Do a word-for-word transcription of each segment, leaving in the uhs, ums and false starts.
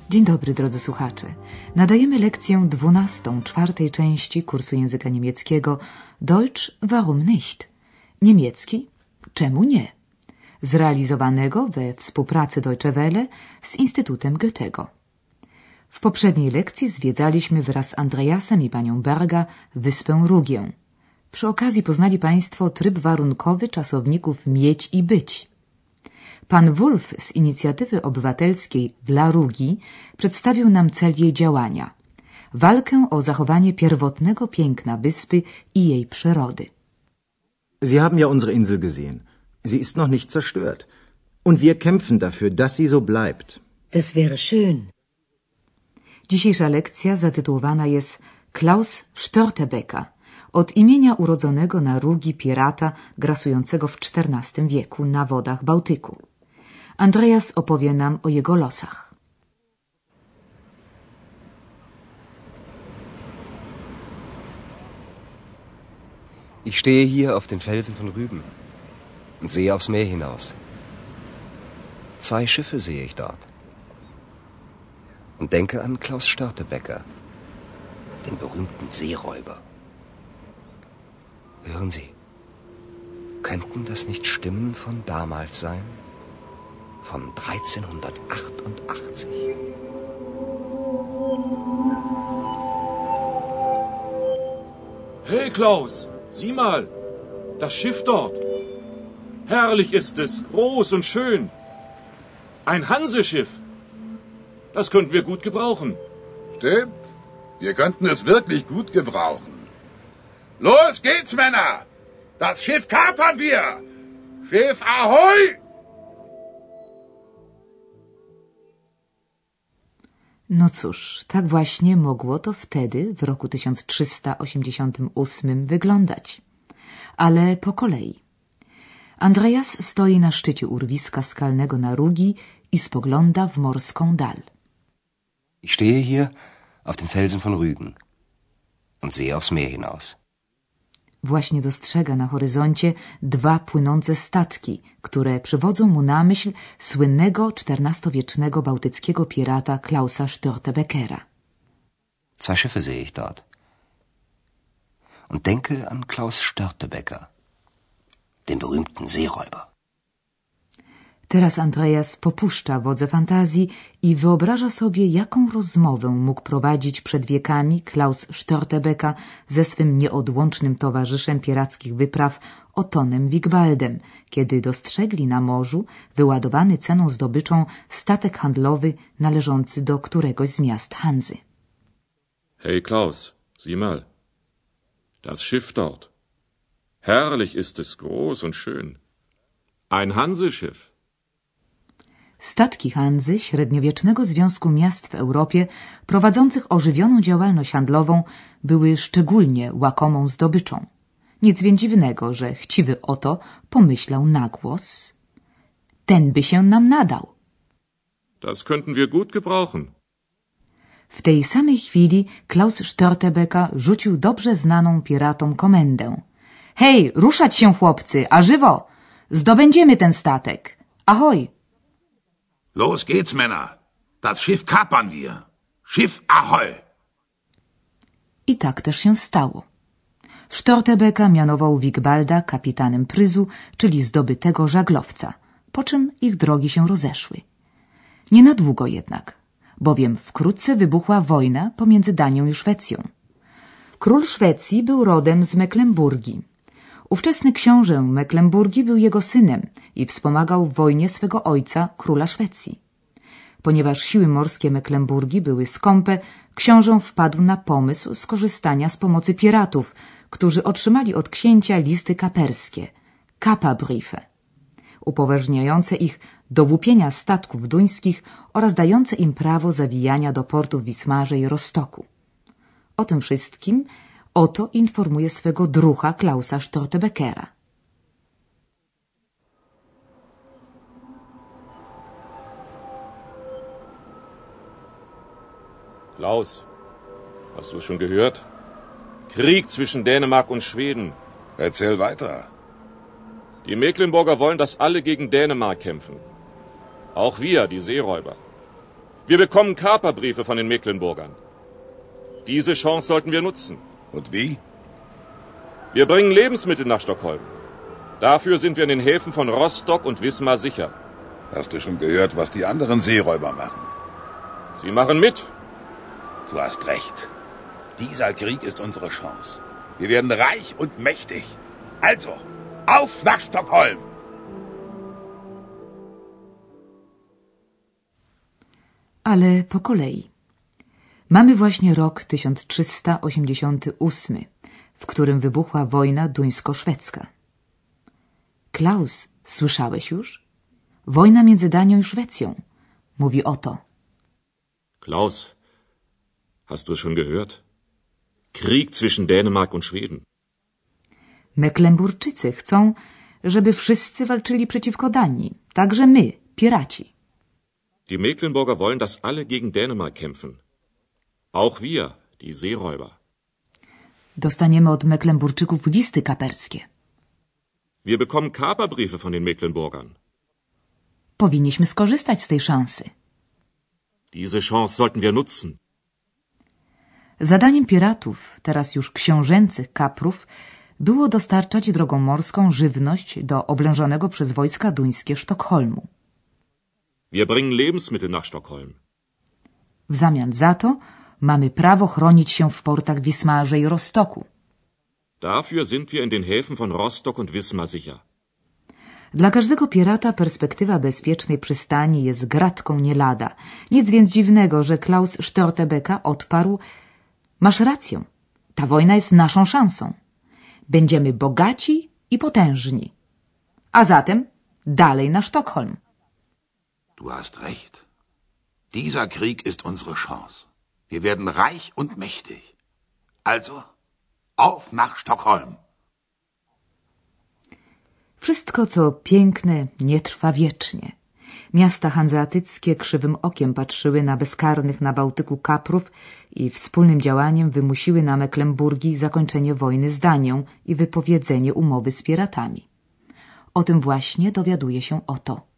Dzień dobry, drodzy słuchacze. Nadajemy lekcję dwunastą czwartej części kursu języka niemieckiego Deutsch warum nicht? Niemiecki czemu nie? Zrealizowanego we współpracy Deutsche Welle z Instytutem Goethego. W poprzedniej lekcji zwiedzaliśmy wraz z Andreasem i panią Berga wyspę Rugię. Przy okazji poznali państwo tryb warunkowy czasowników mieć i być. Pan Wolf z inicjatywy obywatelskiej dla Rugi przedstawił nam cel jej działania. Walkę o zachowanie pierwotnego piękna wyspy i jej przyrody. Sie haben ja unsere Insel gesehen. Sie ist noch nicht zerstört. Und wir kämpfen dafür, dass sie so bleibt. Das wäre schön. Dzisiejsza lekcja zatytułowana jest Klaus Störtebeker, od imienia urodzonego na Rugi pirata grasującego w czternastym wieku na wodach Bałtyku. Andreas opowie nam o jego losach. Ich stehe hier auf den Felsen von Rügen und sehe aufs Meer hinaus. Zwei Schiffe sehe ich dort. Und denke an Klaus Störtebeker, den berühmten Seeräuber. Hören Sie, könnten das nicht Stimmen von damals sein? Von dreizehnhundertachtundachtzig. Hey Klaus, sieh mal, das Schiff dort. Herrlich ist es, groß und schön. Ein Hanseschiff. Das könnten wir gut gebrauchen. Stimmt, wir könnten es wirklich gut gebrauchen. Los geht's, Männer! Das Schiff kapern wir! Schiff Ahoi! No cóż, tak właśnie mogło to wtedy, w roku tysiąc trzysta osiemdziesiątym ósmym, wyglądać. Ale po kolei. Andreas stoi na szczycie urwiska skalnego na Rugi i spogląda w morską dal. Ich stehe hier auf den Felsen von Rügen und sehe aufs Meer hinaus. Właśnie dostrzega na horyzoncie dwa płynące statki, które przywodzą mu na myśl słynnego czternastowiecznego bałtyckiego pirata Klausa Störtebekera. Zwei Schiffe sehe ich dort. Und denke an Klaus Störtebeker, den berühmten Seeräuber. Teraz Andreas popuszcza wodze fantazji i wyobraża sobie, jaką rozmowę mógł prowadzić przed wiekami Klaus Störtebeker ze swym nieodłącznym towarzyszem pirackich wypraw Otonem Wigbaldem, kiedy dostrzegli na morzu wyładowany ceną zdobyczą statek handlowy należący do któregoś z miast Hanzy. Hey Klaus, sieh mal, das Schiff dort. Herrlich ist es, groß und schön. Ein Hanseschiff. Statki Hanzy, średniowiecznego związku miast w Europie, prowadzących ożywioną działalność handlową, były szczególnie łakomą zdobyczą. Nic więc dziwnego, że chciwy Oto pomyślał na głos: ten by się nam nadał. Das könnten wir gut gebrauchen. W tej samej chwili Klaus Störtebeker rzucił dobrze znaną piratom komendę. Hej, ruszać się, chłopcy, a żywo! Zdobędziemy ten statek. Ahoj! Los geht's, Männer! Das Schiff kapern wir! Schiff Ahoi! I tak też się stało. Störtebeker mianował Wigbalda kapitanem pryzu, czyli zdobytego żaglowca, po czym ich drogi się rozeszły. Nie na długo jednak, bowiem wkrótce wybuchła wojna pomiędzy Danią i Szwecją. Król Szwecji był rodem z Mecklenburgii. Ówczesny książę Mecklenburgii był jego synem i wspomagał w wojnie swego ojca, króla Szwecji. Ponieważ siły morskie Mecklenburgii były skąpe, książę wpadł na pomysł skorzystania z pomocy piratów, którzy otrzymali od księcia listy kaperskie, Kaperbriefe, upoważniające ich do łupienia statków duńskich oraz dające im prawo zawijania do portów Wismarze i Rostoku. O tym wszystkim Oto informuje swego drucha Klausa Störtebekera. Klaus, hast du es schon gehört? Krieg zwischen Dänemark und Schweden. Erzähl weiter. Die Mecklenburger wollen, dass alle gegen Dänemark kämpfen. Auch wir, die Seeräuber. Wir bekommen Kaperbriefe von den Mecklenburgern. Diese Chance sollten wir nutzen. Und wie? Wir bringen Lebensmittel nach Stockholm. Dafür sind wir in den Häfen von Rostock und Wismar sicher. Hast du schon gehört, was die anderen Seeräuber machen? Sie machen mit. Du hast recht. Dieser Krieg ist unsere Chance. Wir werden reich und mächtig. Also, auf nach Stockholm! Ale po kolei. Mamy właśnie rok tysiąc trzysta osiemdziesiąty ósmy, w którym wybuchła wojna duńsko-szwedzka. Klaus, słyszałeś już? Wojna między Danią i Szwecją. Mówi oto. Klaus, hast du es schon gehört? Krieg zwischen Dänemark und Schweden. Mecklenburczycy chcą, żeby wszyscy walczyli przeciwko Danii, także my, piraci. Die Mecklenburger wollen, dass alle gegen Dänemark kämpfen. Auch wir, die Seeräuber. Dostaniemy od Mecklenburczyków listy kaperskie. Wir bekommen Kaperbriefe von den Mecklenburgern. Powinniśmy skorzystać z tej szansy. Diese Chance sollten wir nutzen. Zadaniem piratów, teraz już książęcych kaprów, było dostarczać drogą morską żywność do oblężonego przez wojska duńskie Sztokholmu. Wir bringen Lebensmittel nach Stockholm. W zamian za to mamy prawo chronić się w portach Wismarze i Rostoku. Dafür sind wir in den Häfen von Rostock und Wismar sicher. Dla każdego pirata perspektywa bezpiecznej przystani jest gratką nie lada. Nic więc dziwnego, że Klaus Störtebeker odparł: masz rację, ta wojna jest naszą szansą. Będziemy bogaci i potężni. A zatem dalej na Sztokholm. Du hast recht. Dieser Krieg ist unsere Chance. Wir werden reich und mächtig. Also, auf nach Stockholm. Wszystko, co piękne, nie trwa wiecznie. Miasta hanzeatyckie krzywym okiem patrzyły na bezkarnych na Bałtyku kaprów i wspólnym działaniem wymusiły na Mecklenburgii zakończenie wojny z Danią i wypowiedzenie umowy z piratami. O tym właśnie dowiaduje się oto.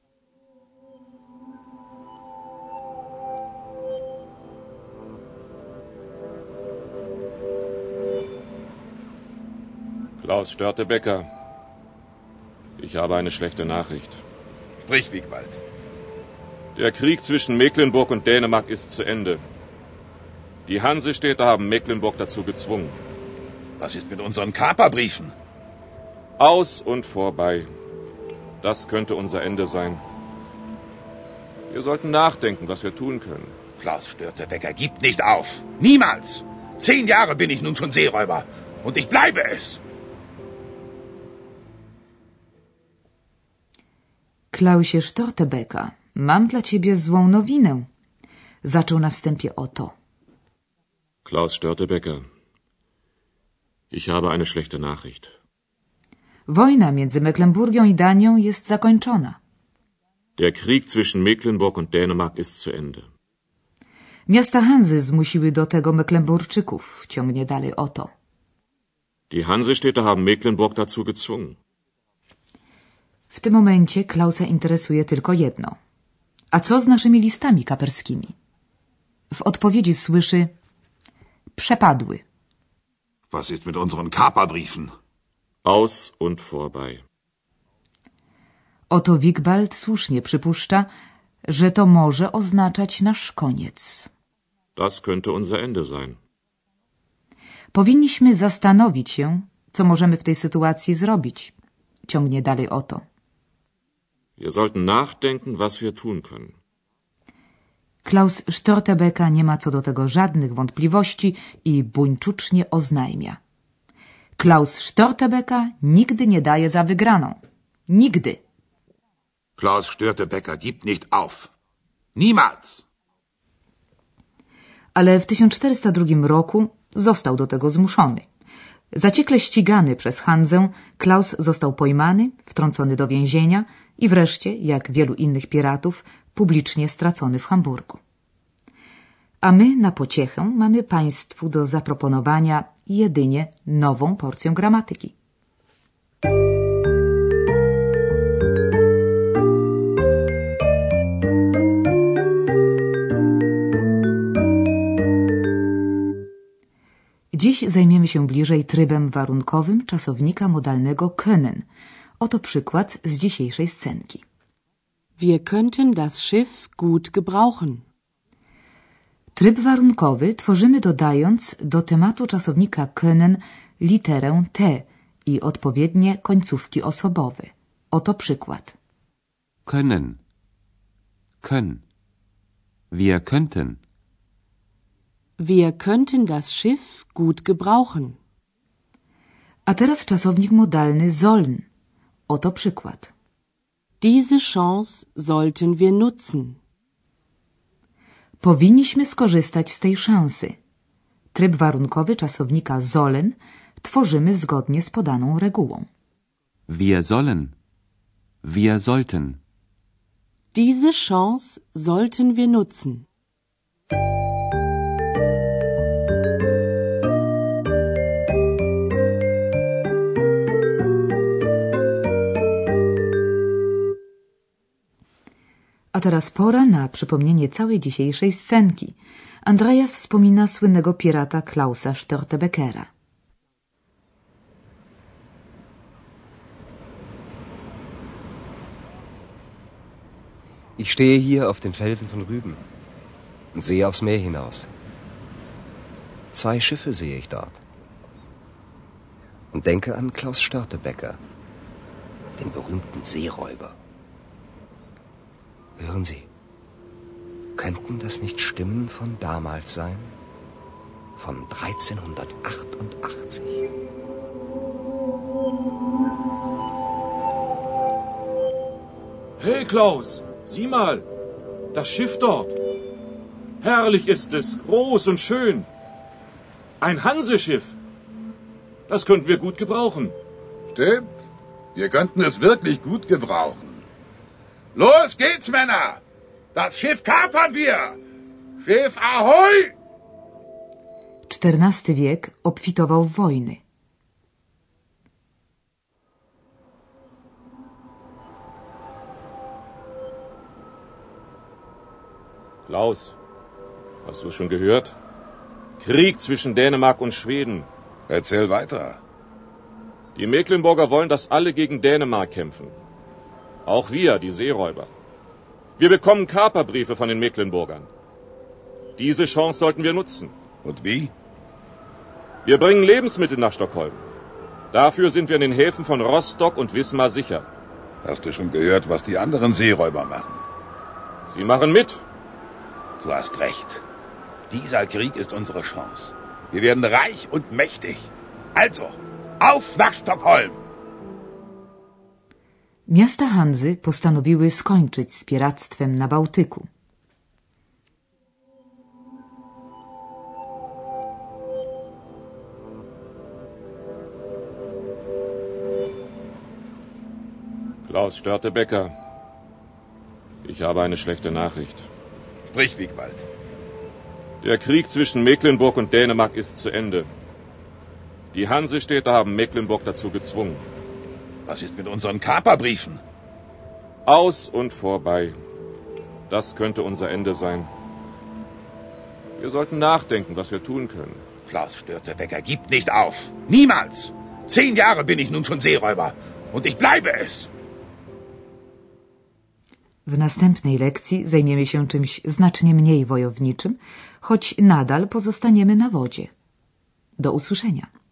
Klaus Störtebeker, ich habe eine schlechte Nachricht. Sprich, Wigwald. Der Krieg zwischen Mecklenburg und Dänemark ist zu Ende. Die Hansestädte haben Mecklenburg dazu gezwungen. Was ist mit unseren Kaperbriefen? Aus und vorbei. Das könnte unser Ende sein. Wir sollten nachdenken, was wir tun können. Klaus Störtebeker, gib nicht auf. Niemals. Zehn Jahre bin ich nun schon Seeräuber. Und ich bleibe es. Klausie Störtebeker, mam dla ciebie złą nowinę. Zaczął na wstępie oto. Klaus Störtebeker, ich habe eine schlechte Nachricht. Wojna między Mecklenburgią i Danią jest zakończona. Der Krieg zwischen Mecklenburg und Dänemark ist zu Ende. Miasta Hanzy zmusiły do tego Mecklenburczyków. Ciągnie dalej oto. Die Hansestädte haben Mecklenburg dazu gezwungen. W tym momencie Klausa interesuje tylko jedno. A co z naszymi listami kaperskimi? W odpowiedzi słyszy: przepadły. Was ist mit unseren Kaperbriefen? Aus und vorbei. Oto Wigwald słusznie przypuszcza, że to może oznaczać nasz koniec. Das könnte unser Ende sein. Powinniśmy zastanowić się, co możemy w tej sytuacji zrobić. Ciągnie dalej oto. Wir sollten nachdenken, was wir tun können. Klaus Störtebeker nie ma co do tego żadnych wątpliwości i buńczucznie oznajmia. Klaus Störtebeker nigdy nie daje za wygraną. Nigdy. Klaus Störtebeker gibt nicht auf. Niemals. Ale w tysiąc czterysta drugim roku został do tego zmuszony. Zaciekle ścigany przez Hanzę, Klaus został pojmany, wtrącony do więzienia i wreszcie, jak wielu innych piratów, publicznie stracony w Hamburgu. A my na pociechę mamy państwu do zaproponowania jedynie nową porcję gramatyki. Dziś zajmiemy się bliżej trybem warunkowym czasownika modalnego können. Oto przykład z dzisiejszej scenki. Wir könnten das Schiff gut gebrauchen. Tryb warunkowy tworzymy dodając do tematu czasownika können literę T i odpowiednie końcówki osobowe. Oto przykład. Können. Können. Wir könnten. Wir könnten das Schiff gut gebrauchen. A teraz czasownik modalny sollen. Oto przykład. Diese Chance sollten wir nutzen. Powinniśmy skorzystać z tej szansy. Tryb warunkowy czasownika sollen tworzymy zgodnie z podaną regułą. Wir sollen. Wir sollten. Diese Chance sollten wir nutzen. A teraz pora na przypomnienie całej dzisiejszej scenki. Andreas wspomina słynnego pirata Klausa Störtebeckera. Ich stehe hier auf den Felsen von Rügen und sehe aufs Meer hinaus. Zwei Schiffe sehe ich dort. Und denke an Klaus Störtebecker, den berühmten Seeräuber. Hören Sie, könnten das nicht Stimmen von damals sein? Von dreizehnhundertachtundachtzig. Hey Klaus, sieh mal, das Schiff dort. Herrlich ist es, groß und schön. Ein Hanseschiff. Das könnten wir gut gebrauchen. Stimmt. Wir könnten es wirklich gut gebrauchen. Los geht's, Männer! Das Schiff kapern wir! Schiff ahoi! czternasty wiek obfitował w wojny. Klaus, hast du es schon gehört? Krieg zwischen Dänemark und Schweden. Erzähl weiter. Die Mecklenburger wollen, dass alle gegen Dänemark kämpfen. Auch wir, die Seeräuber. Wir bekommen Kaperbriefe von den Mecklenburgern. Diese Chance sollten wir nutzen. Und wie? Wir bringen Lebensmittel nach Stockholm. Dafür sind wir in den Häfen von Rostock und Wismar sicher. Hast du schon gehört, was die anderen Seeräuber machen? Sie machen mit. Du hast recht. Dieser Krieg ist unsere Chance. Wir werden reich und mächtig. Also, auf nach Stockholm! Miasta Hanzy postanowiły skończyć z piractwem na Bałtyku. Klaus Störtebecker, ich habe eine schlechte Nachricht. Sprich, Wigwald. Der Krieg zwischen Mecklenburg und Dänemark ist zu Ende. Die Hansestädte haben Mecklenburg dazu gezwungen. Was ist mit unseren Kaperbriefen? Aus und vorbei. Das könnte unser Ende sein. Wir sollten nachdenken, was wir tun können. Klaus Störtebecker gibt nicht auf. Niemals. Zehn Jahre bin ich nun schon Seeräuber. Und ich bleibe es. W następnej lekcji zajmiemy się czymś znacznie mniej wojowniczym, choć nadal pozostaniemy na wodzie. Do usłyszenia.